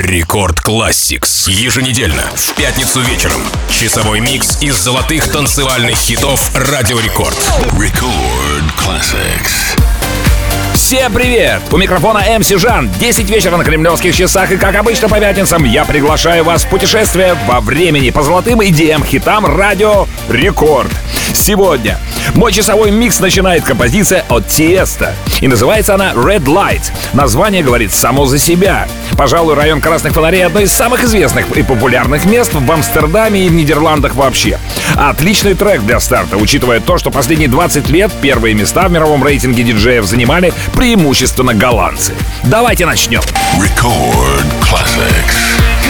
Рекорд Classics. Еженедельно, в пятницу вечером. Часовой микс из золотых танцевальных хитов Радио Рекорд. Record Classics. Всем привет! У микрофона МС Жан. 10 вечера на кремлевских часах, и как обычно по пятницам я приглашаю вас в путешествие во времени по золотым идеям, хитам Радио Рекорд. Сегодня мой часовой микс начинает композиция от Тиеста. И называется она Red Light. Название говорит само за себя. Пожалуй, район Красных Фонарей — одно из самых известных и популярных мест в Амстердаме и в Нидерландах вообще. Отличный трек для старта, учитывая то, что последние 20 лет первые места в мировом рейтинге диджеев занимали преимущественно голландцы. Давайте начнем. Record Classics.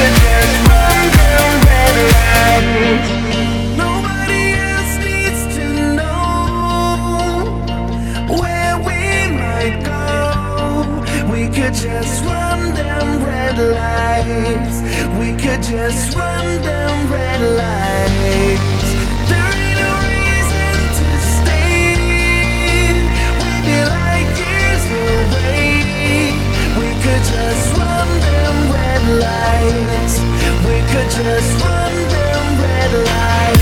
Just run them red lights. We could just run them red lights. There ain't no reason to stay. We'd be like years away. We could just run them red lights. We could just run them red lights.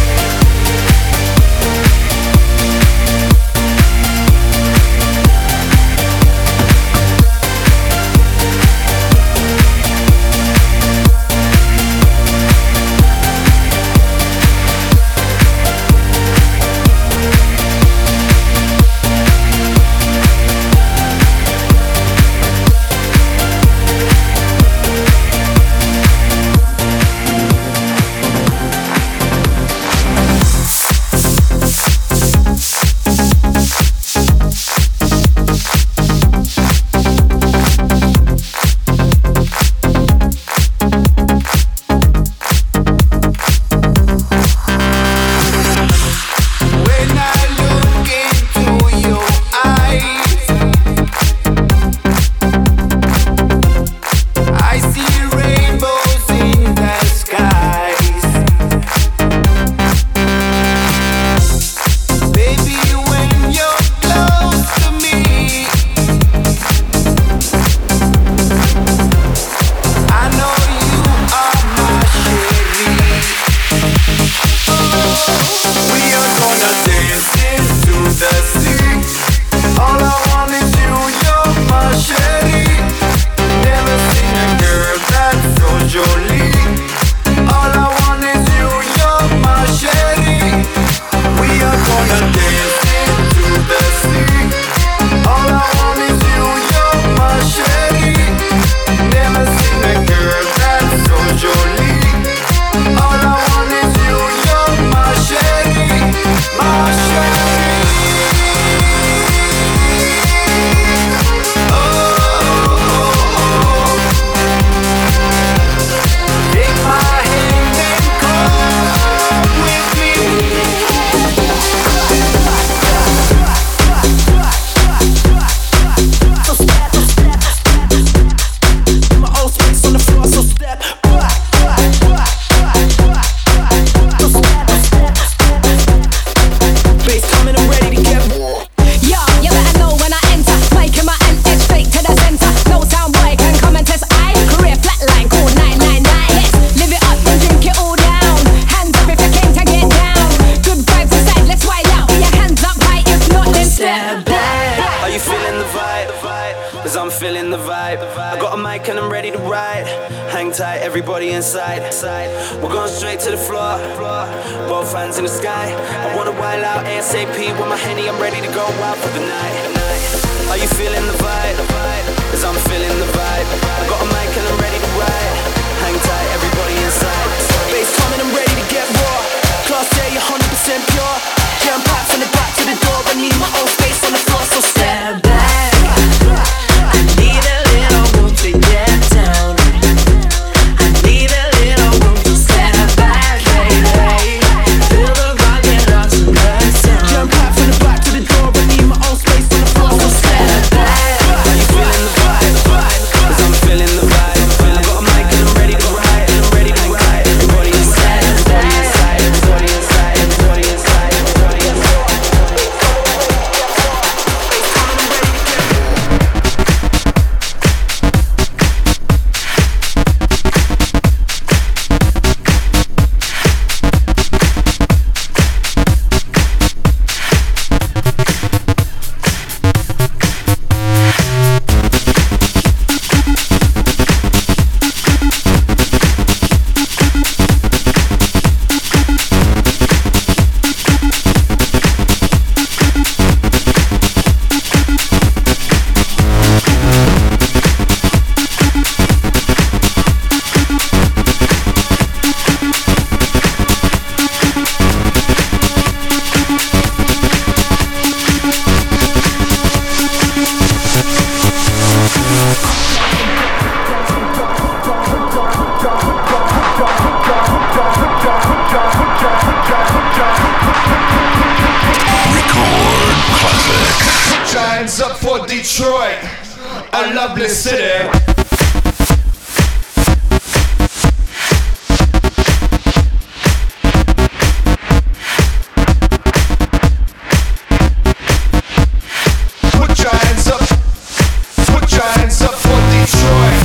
Everybody inside, we're going straight to the floor. Both hands in the sky. I wanna wild out ASAP with my Henny. I'm ready to go out for the night. Are you feeling the vibe? Cause I'm feeling the vibe. I got a mic and I'm ready to ride. Hang tight, everybody inside. Bass coming, I'm ready to get raw. Class A, 100% pure. Jam pack from the back to the door. I need my own space on the floor, so stand back. I need a little room to get down. Cause I'm Detroit, a lovely city. Put your hands up for Detroit.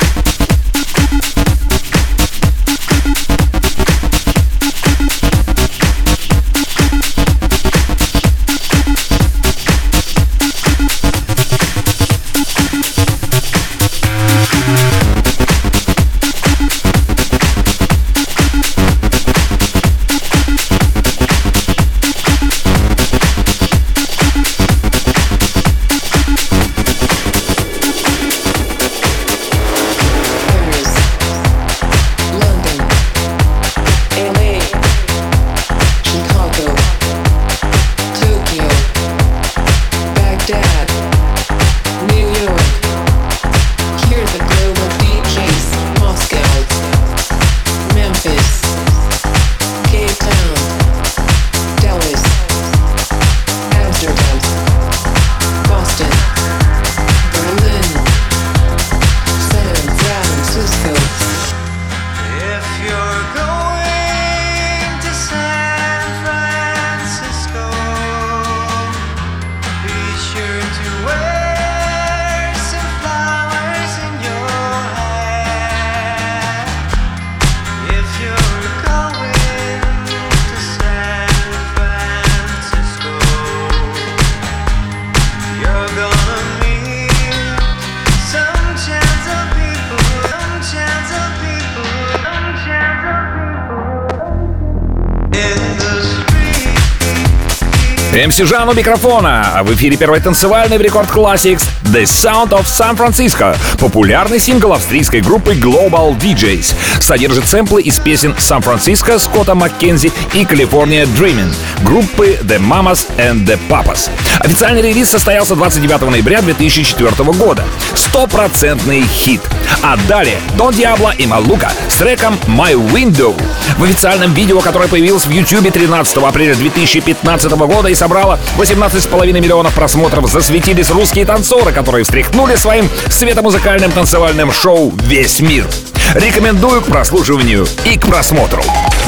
МС Жан у микрофона. В эфире первой танцевальной в Рекорд Classics The Sound of San Francisco. Популярный сингл австрийской группы Global DJs. Содержит сэмплы из песен San Francisco Скотта Маккензи и California Dreamin' группы The Mamas and the Papas. Официальный релиз состоялся 29 ноября 2004 года. Стопроцентный хит. А далее Дон Диабло и Малука с треком My Window. В официальном видео, которое появилось в YouTube 13 апреля 2015 года и собрало 18,5 миллионов просмотров, засветились русские танцоры, которые встряхнули своим светомузыкальным танцевальным шоу весь мир. Рекомендую к прослушиванию и к просмотру.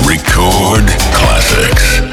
Record Classics.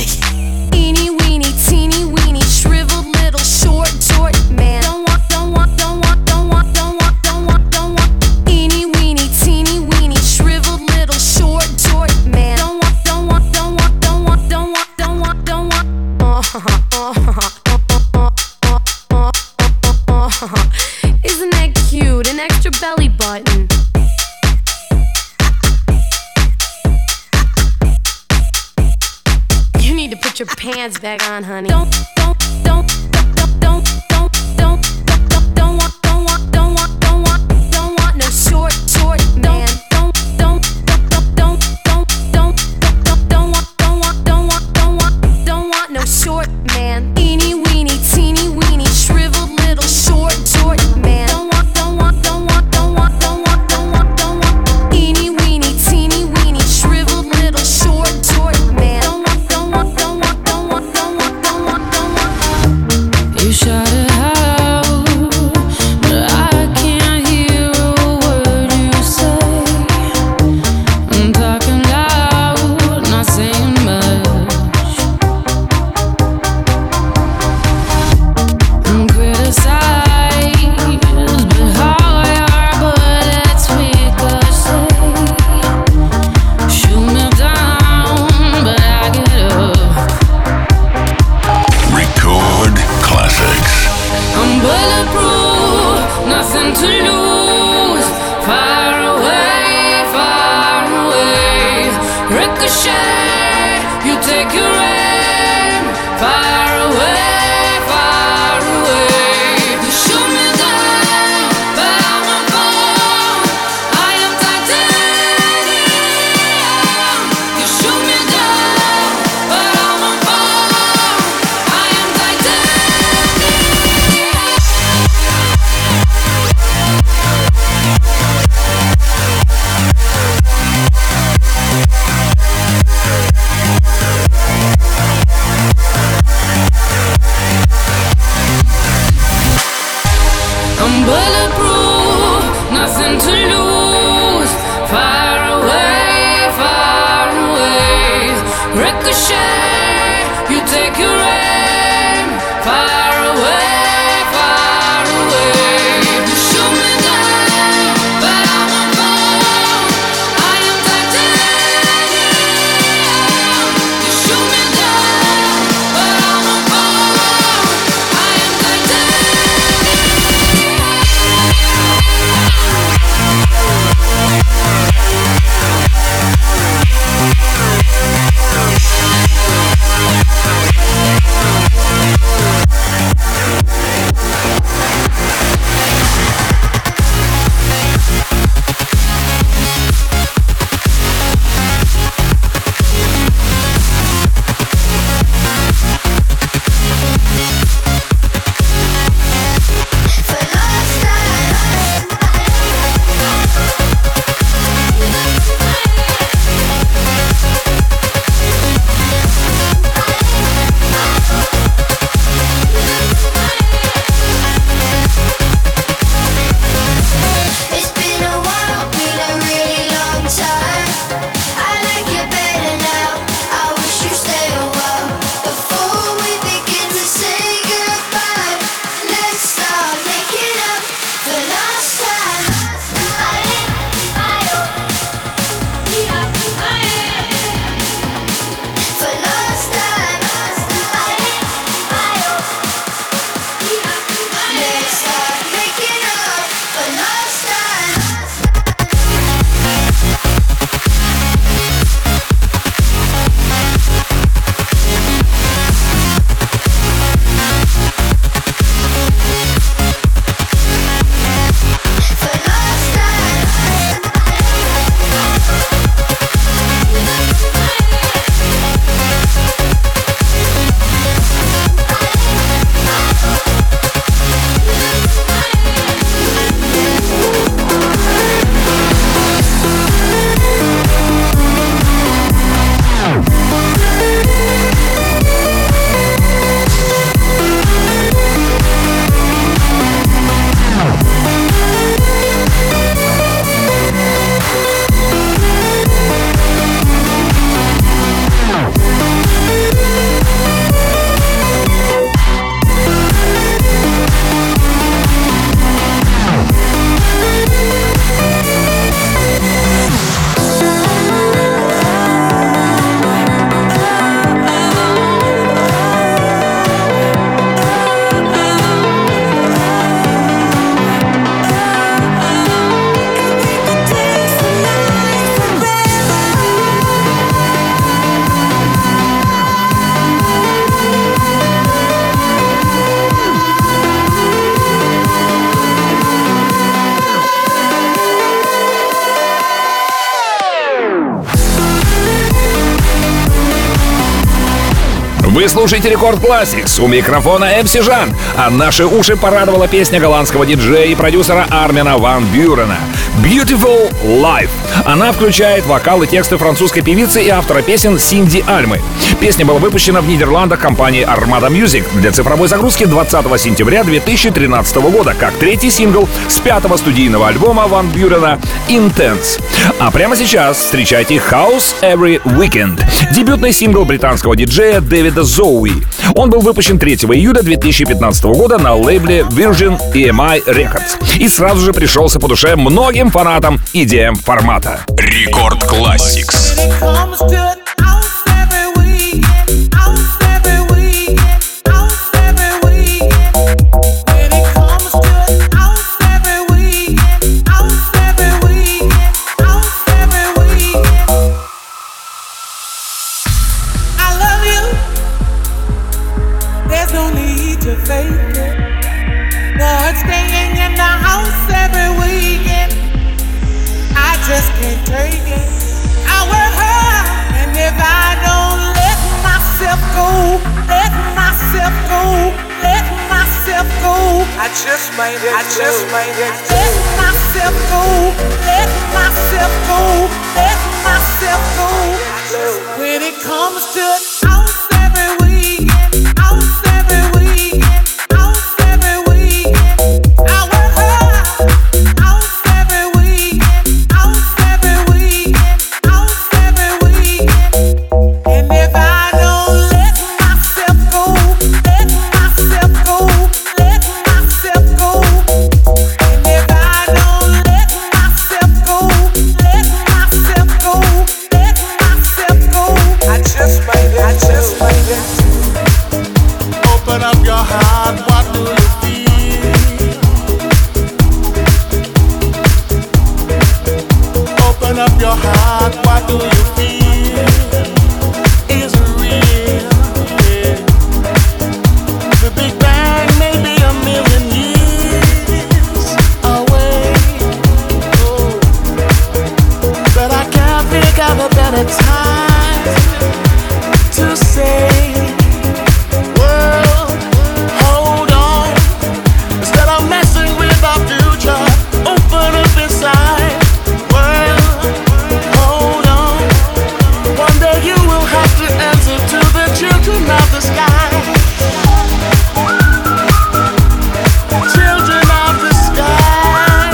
Eeny weeny, teeny weeny, shriveled little short man. Don't want. Eeny weeny, teeny weeny, shriveled little short man. Don't want. Isn't that cute? An extra belly button. You need to put your pants back on, honey. Don't want no short man. Don't want no short man. Eeny weeny, teeny weeny, shriveled little short man. Don't want. Eeny weeny, teeny weeny, shriveled little short man. Don't want. You shout it out, but I can't hear a word you say. I'm talking loud, not saying much. I'm criticized, but how I are, but it's ricochet. Shoot me down, but I get up. Record classics. I'm bulletproof, nothing to lose. Far away. Ricochet, you take your aim. Far away. You shoot me down, but I won't fall. I am titanium. You shoot me down, but I won't fall. I am titanium. I'm bulletproof, nothing to lose. Far away. Ricochet, you take your aim. Far away. You shoot me down, but I won't fall. I am titanium. You shoot me down, but I won't fall. I am titanium. Вы слушаете Рекорд Classics, у микрофона MC Жан, а наши уши порадовала песня голландского диджея и продюсера Армина ван Бюрена «Beautiful Life». Она включает вокал и тексты французской певицы и автора песен Синди Альмы. Песня была выпущена в Нидерландах компанией Armada Music для цифровой загрузки 20 сентября 2013 года, как третий сингл с 5-го студийного альбома Ван Бюрена «Intense». А прямо сейчас встречайте House Every Weekend, дебютный сингл британского диджея Дэвида Зоуи. Он был выпущен 3 июля 2015 года на лейбле Virgin EMI Records и сразу же пришелся по душе многим фанатам EDM-формата. Рекорд Classics. Just can't take it. I work hard, and if I don't let myself go, let myself go, let myself go, I just might it. I just might it. Let myself go, let myself go, let myself go. When it comes to house every weekend, house every weekend, house every weekend, I work hard. Open up your heart, what do you feel? Open up your heart, what do you feel? Is it real? Yeah. The Big Bang may be a million years away, oh, but I can't think of a better time to say, world, hold on. Instead of messing with our future, open up inside. World, hold on. One day you will have to answer to the children of the sky. Children of the sky.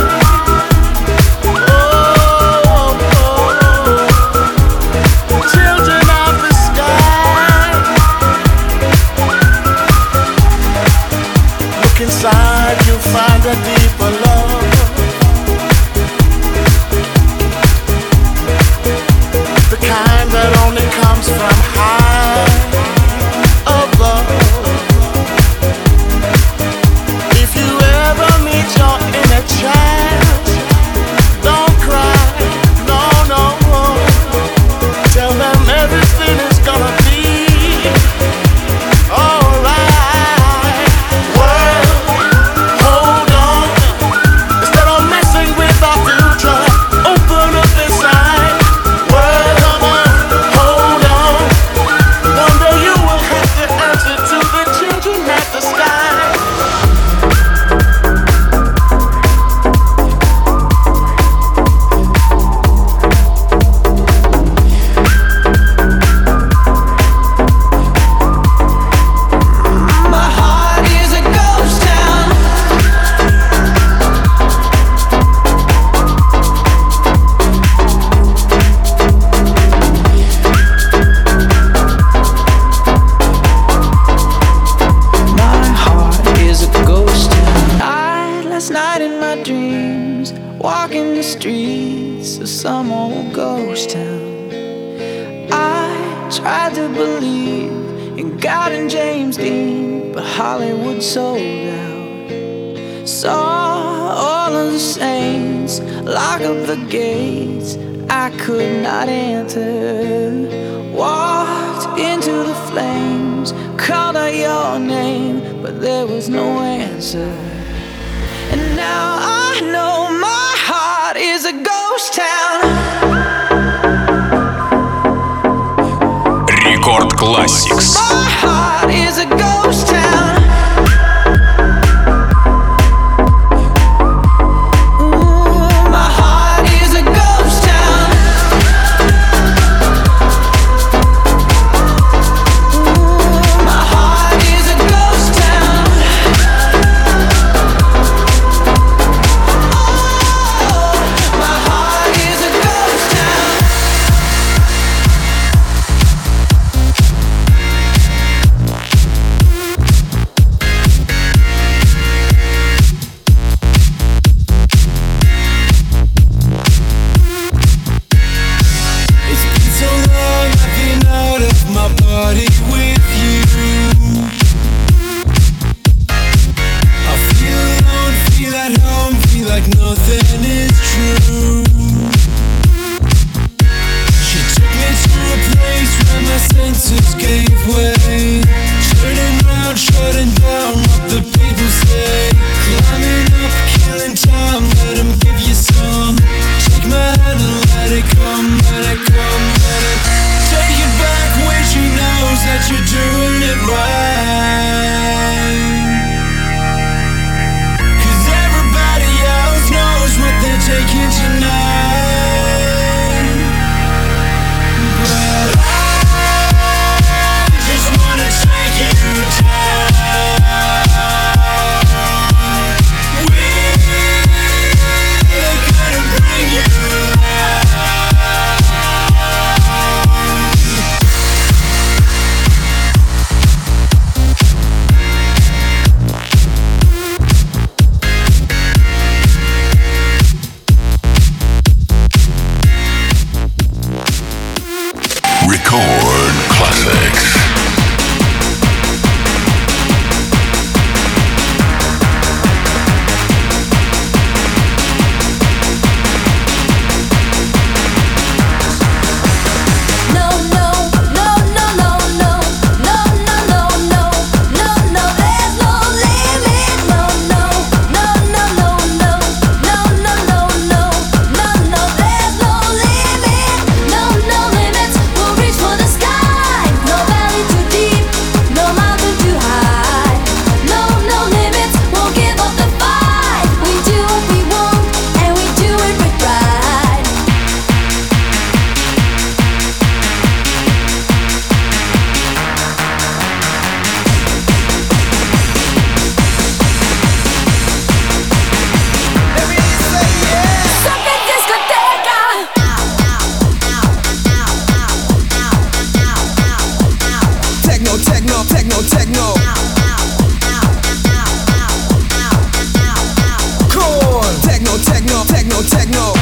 Oh, oh, oh. Children of the sky. Look inside, you'll find a deeper love. The kind that only comes from high above. If you ever meet your inner child, don't cry, no, no. Tell them everything is gonna be alright. World, hold on. Instead of messing with our future, open up inside. World, come on, hold on. One day you will have to answer to the children at the sky. My heart is a ghost town. My heart is a ghost town. Last night in my dreams, walking the streets of some old ghost town. I tried to believe in God and James Dean, but Hollywood sold out. Saw all of the saints lock up the gates I could not enter. Walked into the flames, called out your name, but there was no answer. And now I know my heart is a ghost town. Рекорд Classics. My heart techno, techno, techno. Come on, techno, techno, techno, techno.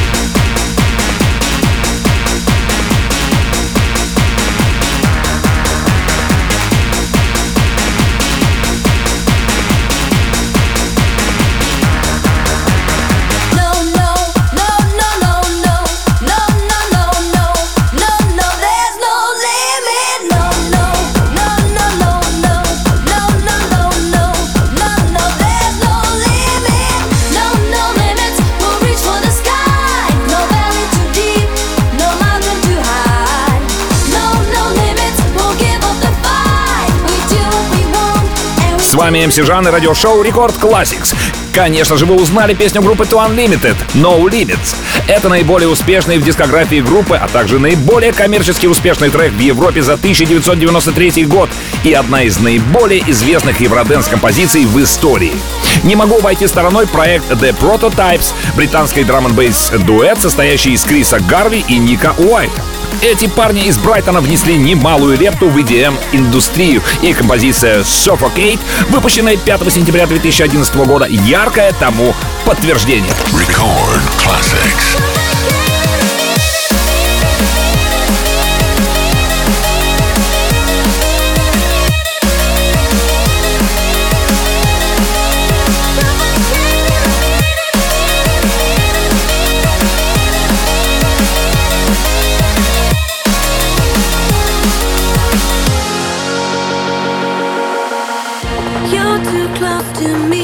С вами МС Жан и радиошоу Рекорд Classics. Конечно же, вы узнали песню группы To Unlimited «No Limits». Это наиболее успешный в дискографии группы, а также наиболее коммерчески успешный трек в Европе за 1993 год и одна из наиболее известных евроденс-композиций в истории. Не могу обойти стороной проект The Prototypes, британский драм-н-бейс дуэт, состоящий из Криса Гарви и Ника Уайта. Эти парни из Брайтона внесли немалую лепту в EDM-индустрию, и композиция Suffocate, выпущенная 5 сентября 2011 года, яркое тому подтверждение. Record Classics. You're too close to me,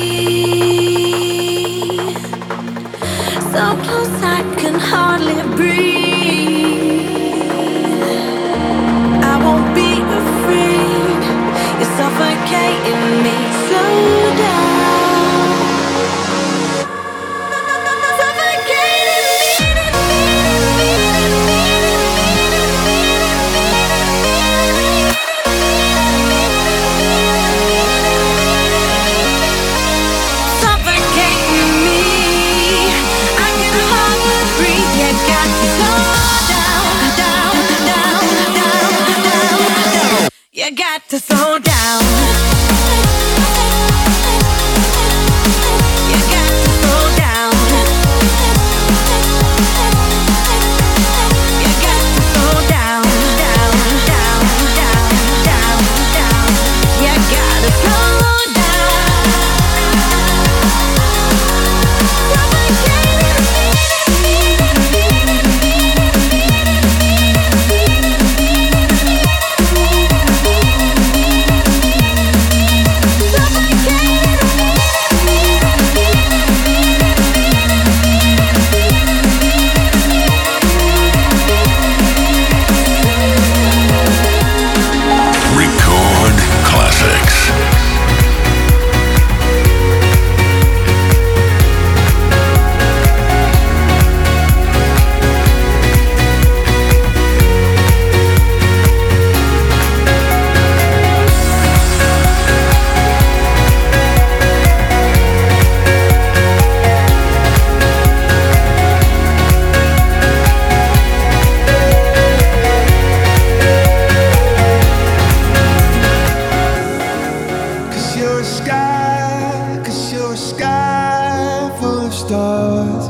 so close I can hardly breathe. I won't be afraid, you're suffocating me. Slow down, suffocating you got to slow down. You got to slow down. You got to slow down, down, down, down, down, down. You gotta slow Record Classics. Cause you're a sky full of stars.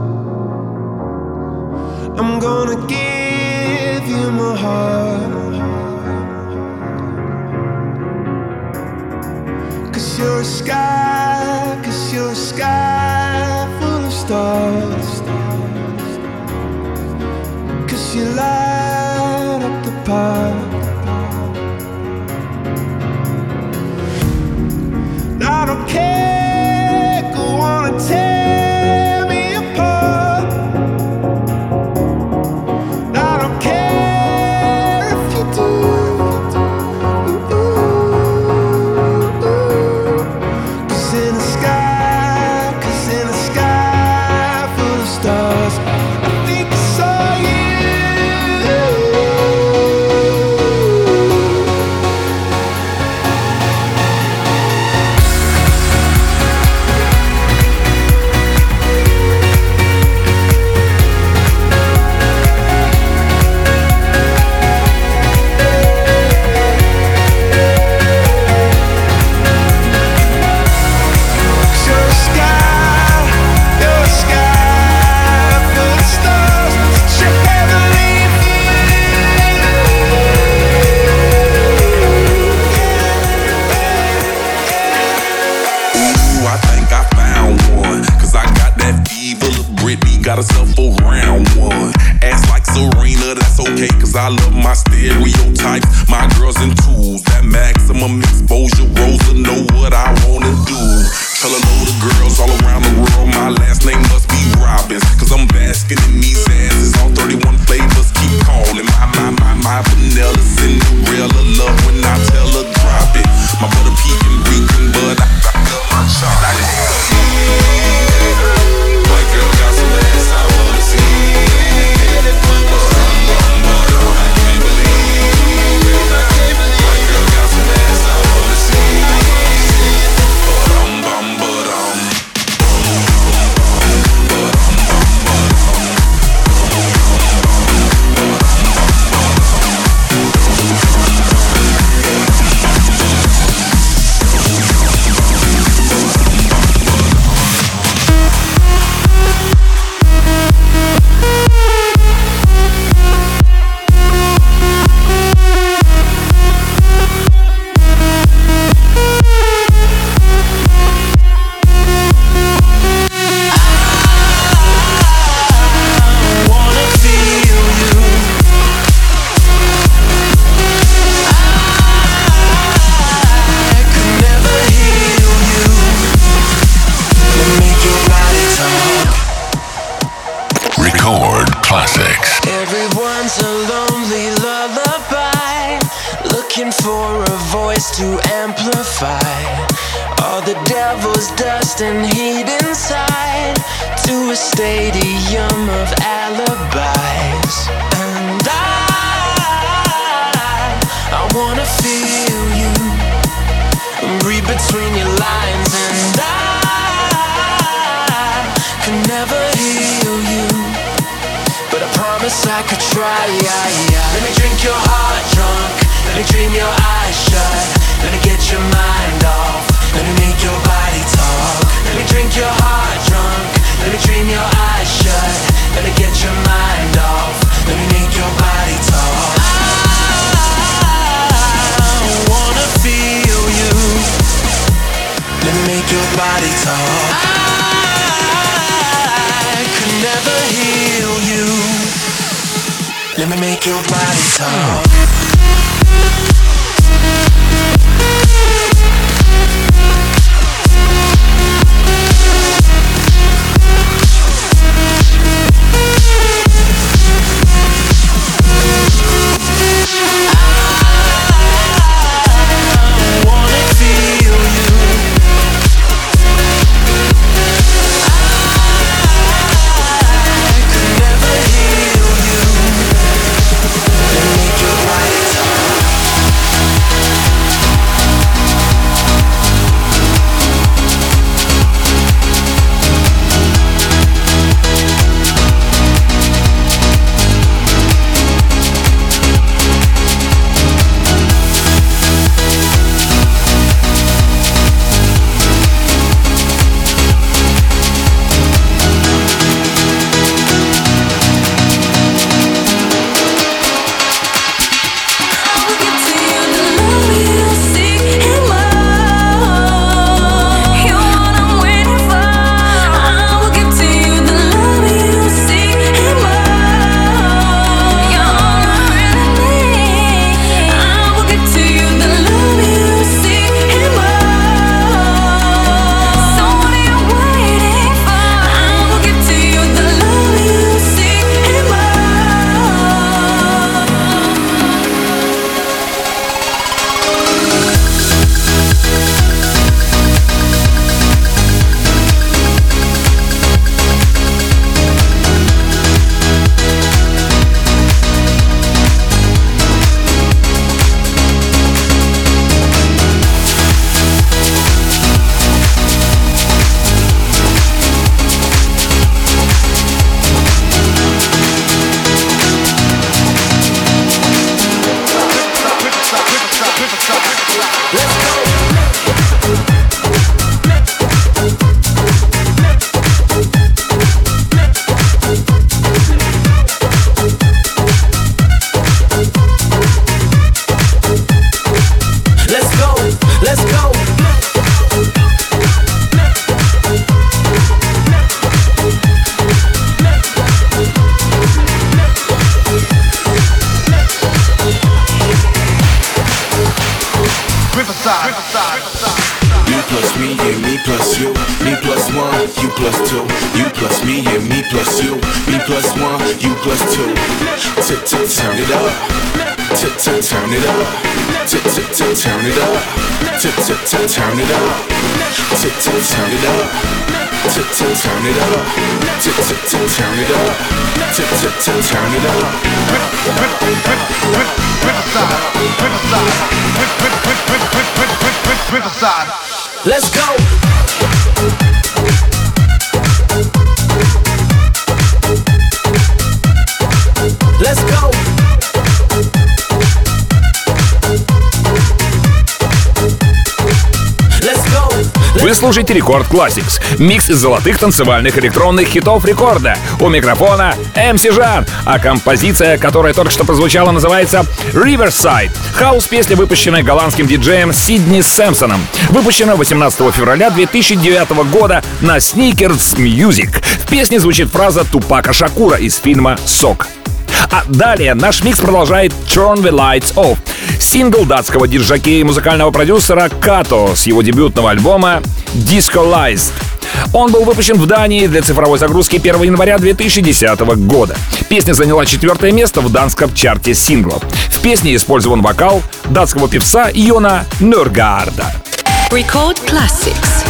I'm gonna give you my heart. Cause you're a sky full of stars. Cause you light up the park. I don't care, go on and tear me apart. I don't care if you do. Cause in the sky full of stars, I think I saw you. voice to amplify all the devil's dust and heat inside to a stadium of alibis. And I wanna feel you, read between your lines, and I can never heal you, but I promise I could try. Let me drink your heart drunk, let me dream your eyes shut, let me get your mind off, let me make your body talk. Let me drink your heart drunk, let me dream your eyes shut, let me get your mind off, let me make your body talk. I wanna feel you, let me make your body talk. I could never heal you, let me make your body talk. Let's go. Let's go. Вы слушаете Рекорд Classics, микс из золотых танцевальных электронных хитов рекорда. У микрофона MC Жан, а композиция, которая только что прозвучала, называется Riverside. Хаус-песня, выпущенная голландским диджеем Сидни Сэмпсоном. Выпущена 18 февраля 2009 года на Sneakers Music. В песне звучит фраза Тупака Шакура из фильма «Сок». А далее наш микс продолжает Turn the Lights Off. Сингл датского диджака и музыкального продюсера Като с его дебютного альбома Disco Lies. Он был выпущен в Дании для цифровой загрузки 1 января 2010 года. Песня заняла 4 место в данском чарте синглов. В песне использован вокал датского певца Йона Нørgaarda. Record Classics.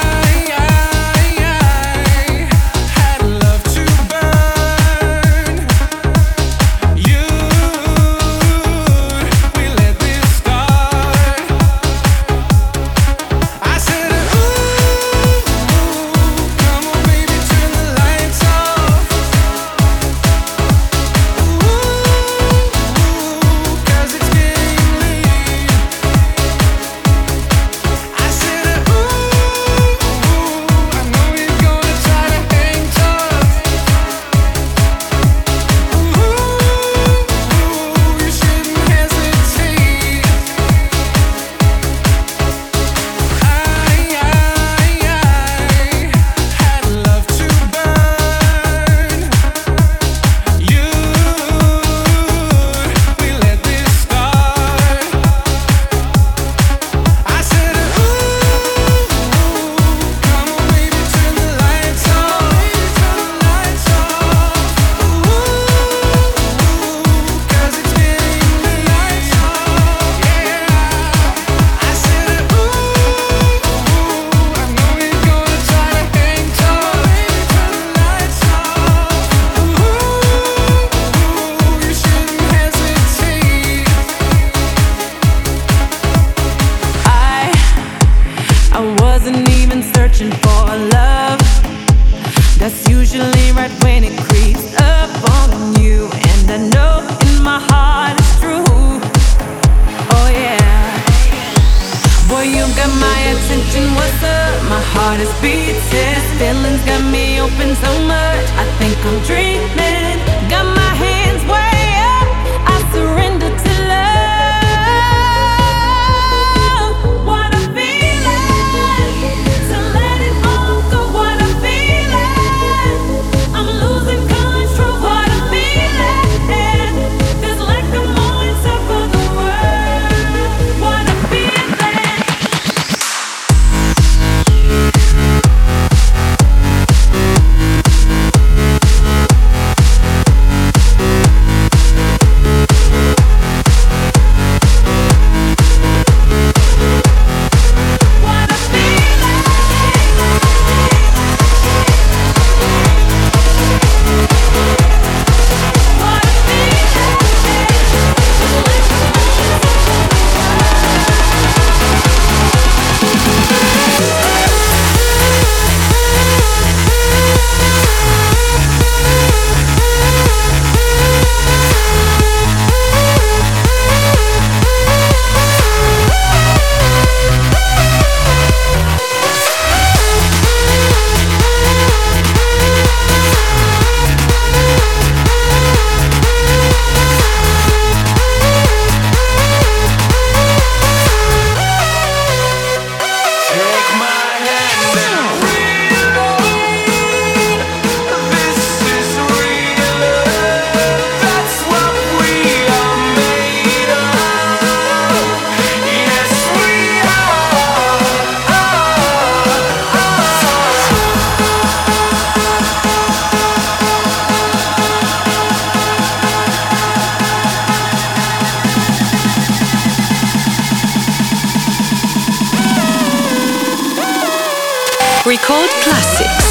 Record Classics.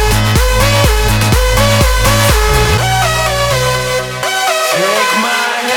Take my hand.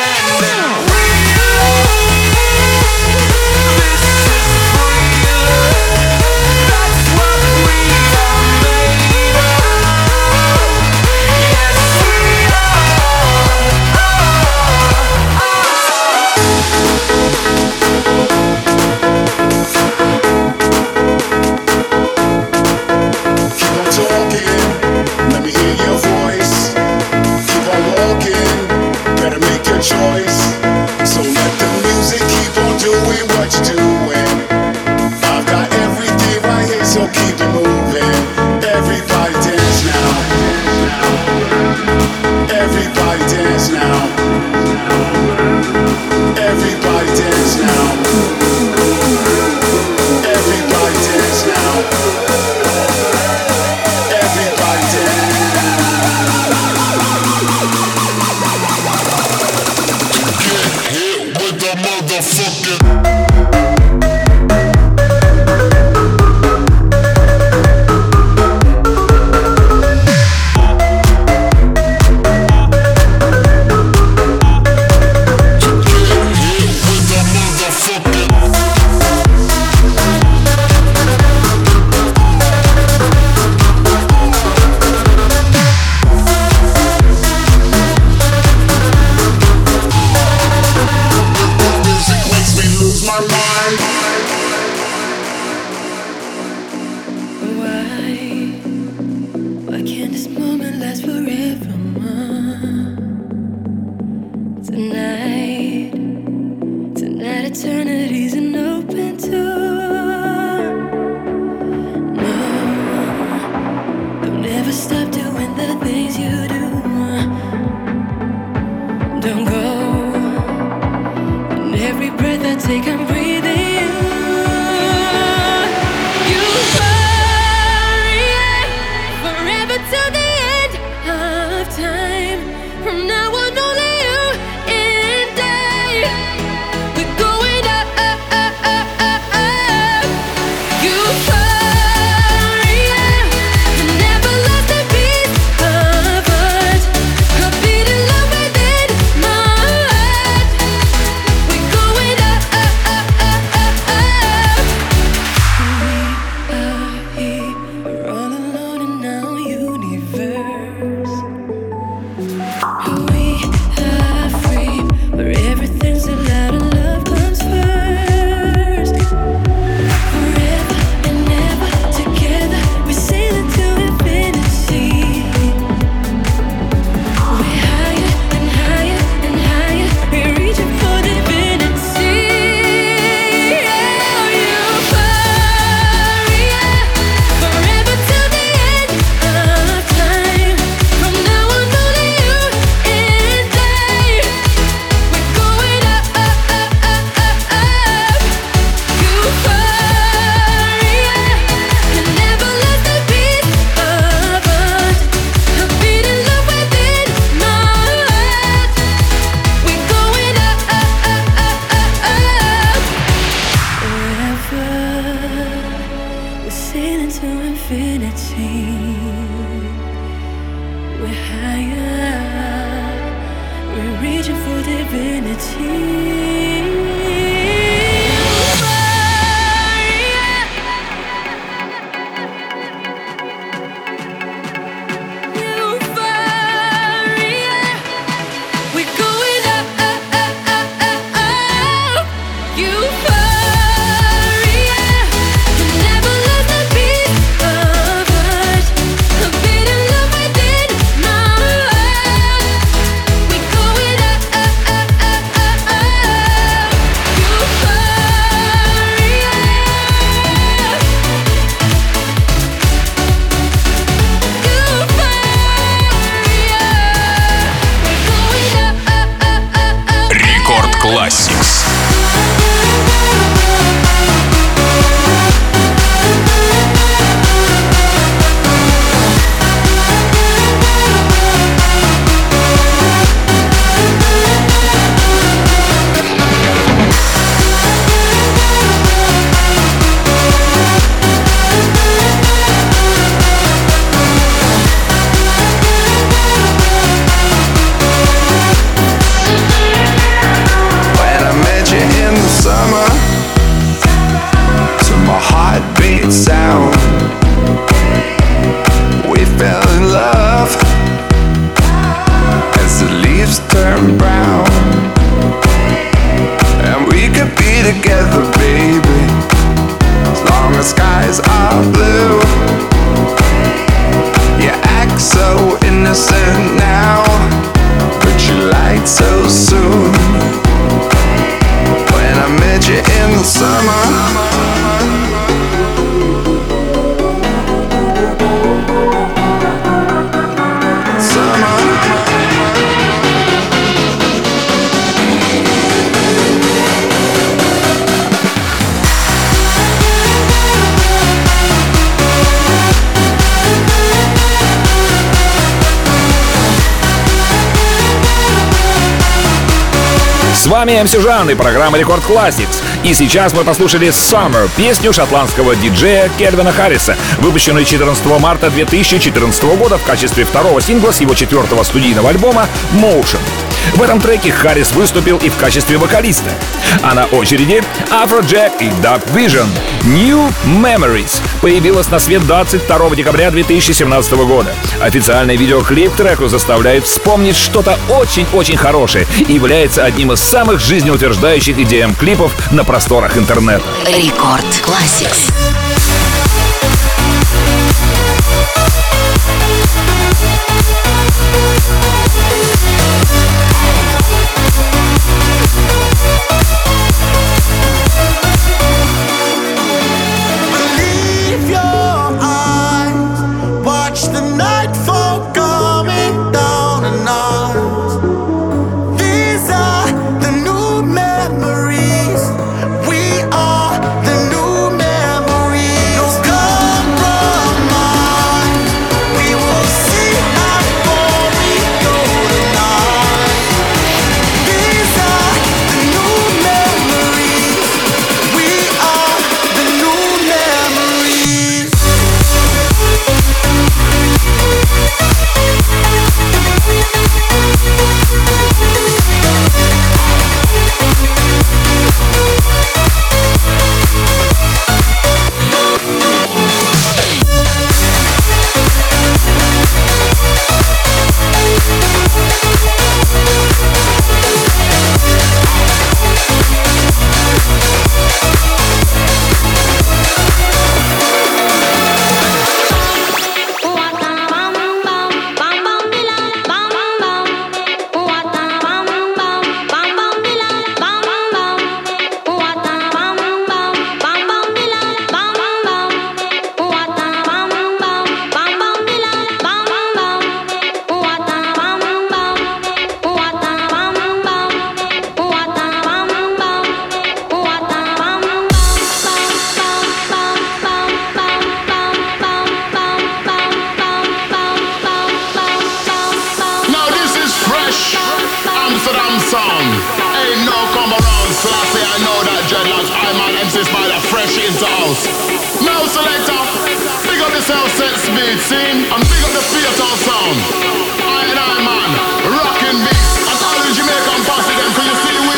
forever till the end of time. From now on, only you and I. We're going up, up, up, up, up, up. Euphoria, you never lost a piece of us. A beating love within my heart. We're going up, up, up, up, up, up. We are here, we're all alone in our universe. We are free, where everything's allowed and love comes first. Forever and ever together, we're sailing to infinity. We're higher and higher and higher, we're reaching for divinity. Oh, euphoria, forever till the end of time. From now on, only you and I. We're going up, up, up, up, up, up. Euphoria, you never lost a piece of us. A beating love within my heart. We're going up, up, up, up, up, up. Forever, we're sailing to infinity. We're higher, we're reaching for divinity. Euphoria, we're going up, up, up, up, up, up. Euphoria, you never lost a piece of us. A beating love within my heart. We're going up, up, up, up, up, up. Euphoria. Рекорд Classics. When I met you in the summer, to my heartbeat sound, we fell in love as the leaves turn brown. And we could be together, baby, as long as skies are blue. You act so innocent now, but you lied so soon. When I met you in the summer, С вами МС Жан и программа Рекорд Classics. И сейчас мы послушали Summer, песню шотландского диджея Кельвина Харриса, выпущенную 14 марта 2014 года в качестве второго сингла с его 4-го студийного альбома Motion. В этом треке Харрис выступил и в качестве вокалиста. А на очереди Afrojack и Dub Vision. New Memories появилась на свет 22 декабря 2017 года. Официальный видеоклип к треку заставляет вспомнить что-то очень-очень хорошее и является одним из самых жизнеутверждающих EDM-клипов на просторах интернета. Рекорд Classics. Believe your eyes, watch the nightfall coming down on us. These are the new memories. We are the new memories. fresh into house. Now selector, big up yourself, set speed, scene, and big up the theater sound. I and I, man, rocking beats, and all the Jamaican posse them, can you see we?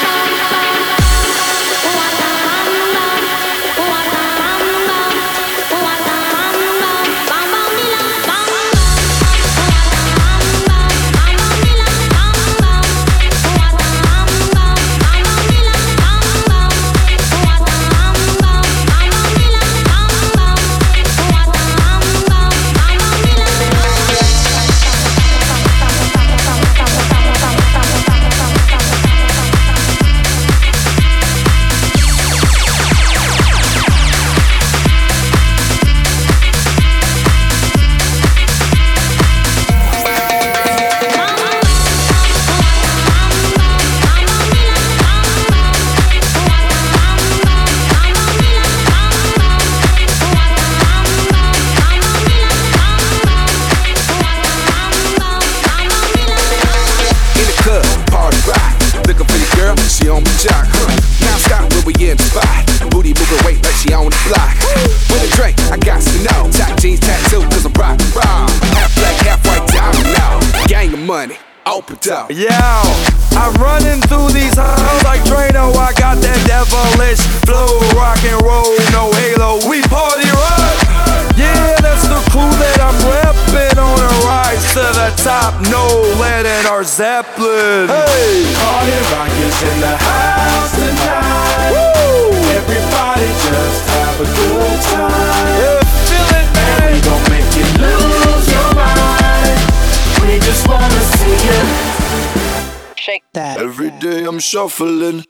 Yeah, I'm running through these halls like Drano. I got that devilish flow, rock and roll, no halo. We party rock. Yeah, that's the crew that I'm repping on a rise to the top. No lead in our Zeppelin. Hey, Party rock is in the house tonight. Woo! Everybody just have a good time. Yeah, feel it, man. And we gon' make you lose your mind. We just wanna see you Shake that. Every day I'm shuffling.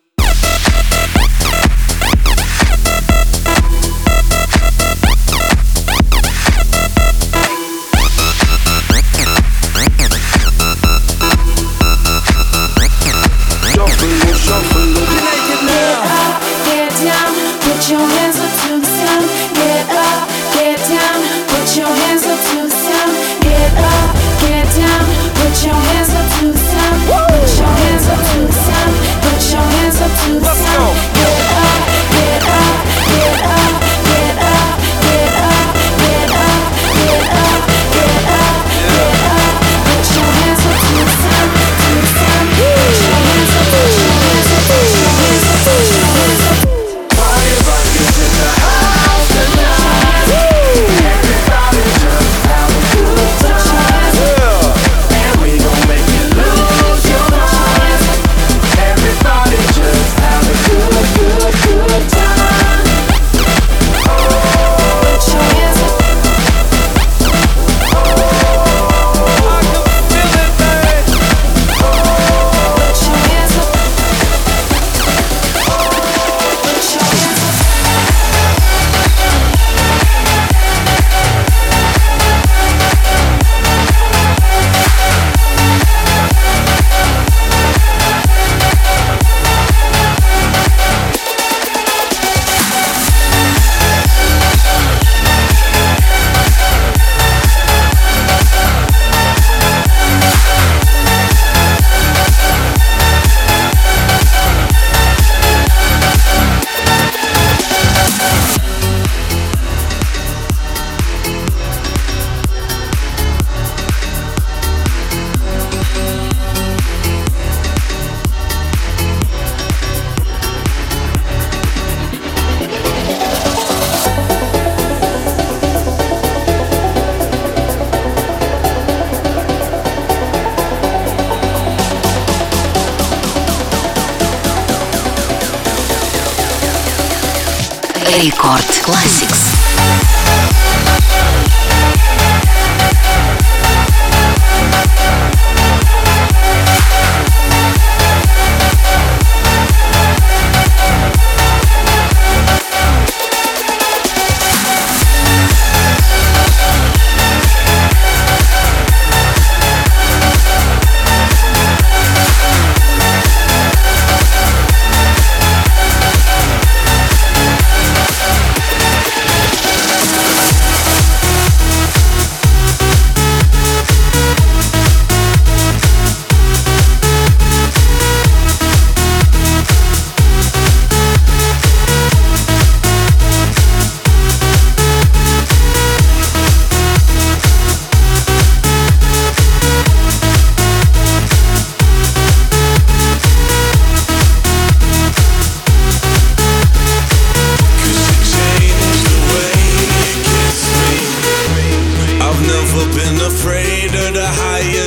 Shuffling. Get down, put your hands up to the sound. Get up, get down, put your hands up to the sound. Get up, get down, put your hands up to the sound. Put your hands up to the sound. Put your hands up to the sound. Get up, get up, get up, get up, get up, get up, get up, get up, get up. Put your hands up to the sound, to the sound. Put your hands up, put your hands up, put your hands up, put your hands up. Party rock is in the house tonight. Everybody just have a good time. And we gon' make you lose your mind. Everybody just have a good time. Put your hands up. Put your hands up. Put your hands up. Рекорд Classics.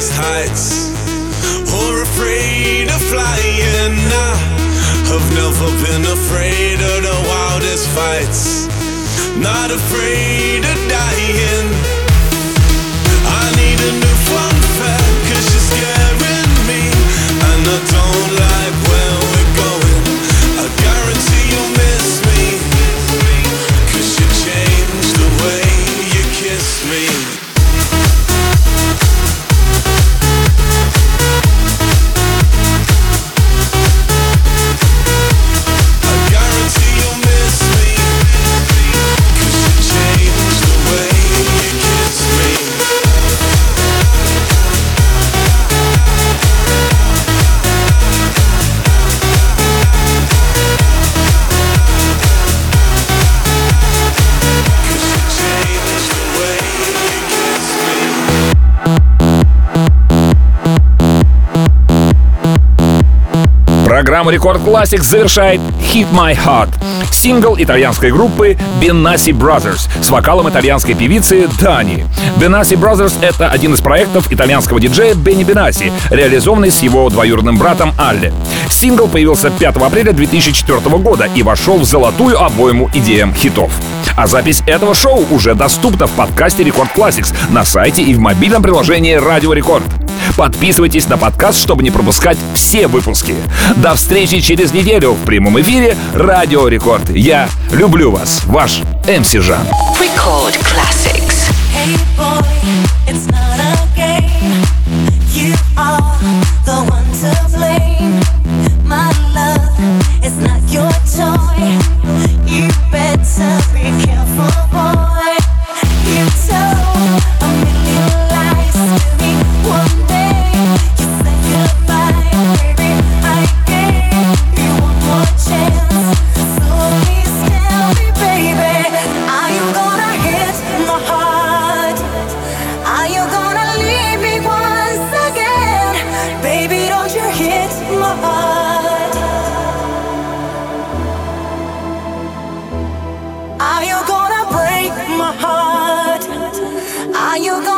wildest heights or afraid of flying. I've never been afraid of the wildest fights, not afraid of dying. I need a new fun fact, 'cause you're scaring me, and I don't like where we're going. I guarantee you'll miss me, 'cause you changed the way you kiss me. Программу Рекорд Classics завершает Hit My Heart, сингл итальянской группы Benassi Brothers с вокалом итальянской певицы Дани. Benassi Brothers — это один из проектов итальянского диджея Бенни Бенасси, реализованный с его двоюродным братом Алле. Сингл появился 5 апреля 2004 года и вошел в золотую обойму EDM хитов. А запись этого шоу уже доступна в подкасте Рекорд Classics на сайте и в мобильном приложении Радио Рекорд. Подписывайтесь на подкаст, чтобы не пропускать все выпуски. До встречи через неделю в прямом эфире Радио Рекорд. Я люблю вас, ваш MC Жан. Record Classics. Hey boy, it's not a game. You are the one to blame. My love is not your toy. You better be careful, boy. You told a million lies to me one day. You said goodbye, baby. I gave you one more chance. So please tell me, baby, are you gonna hit my heart? Are you gonna leave me once again? Baby, don't you hit my heart? Are you gonna break my heart? Are you gonna